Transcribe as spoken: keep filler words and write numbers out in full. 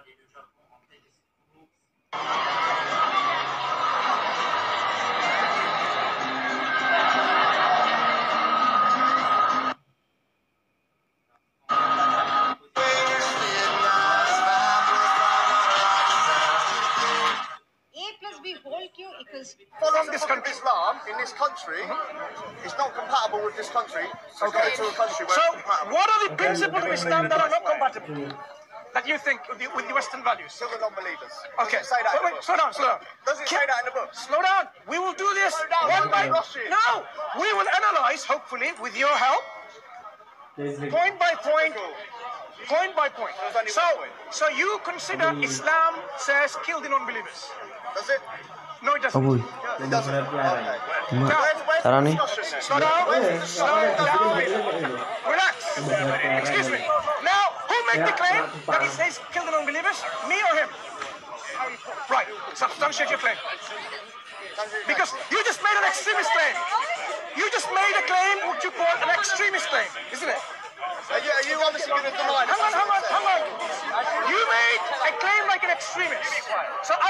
Following this country, Islam in this country is not compatible with this country. So Okay. go to a country where So, it's compatible. what are the principles of Islam that are not compatible? That you think with the, with the Western values? Still the non-believers. Okay. Does it say that Wait, in the wait, book? slow down, slow down. Does it say that in the book? Slow down. We will do this Slow down, one by I'm rushing. No, we will analyze, hopefully, with your help, point by point, point by point. There's only So, one point. so you consider Islam says kill the non-believers? Does it? No, it doesn't. Kabul. It doesn't. Okay. Cuma Where's, where's cara the nih. discussion then? Slow down. Slow down. Relax. Excuse Excuse me. Now, who made the claim that he says kill the non-believers? Me or him? Right. Substantiate your claim. Because you just made an extremist claim. You just made a claim what you call an extremist claim, isn't it? Are you, are you obviously going to deny this? Hang on, hang on, hang on. You made a claim like an extremist. So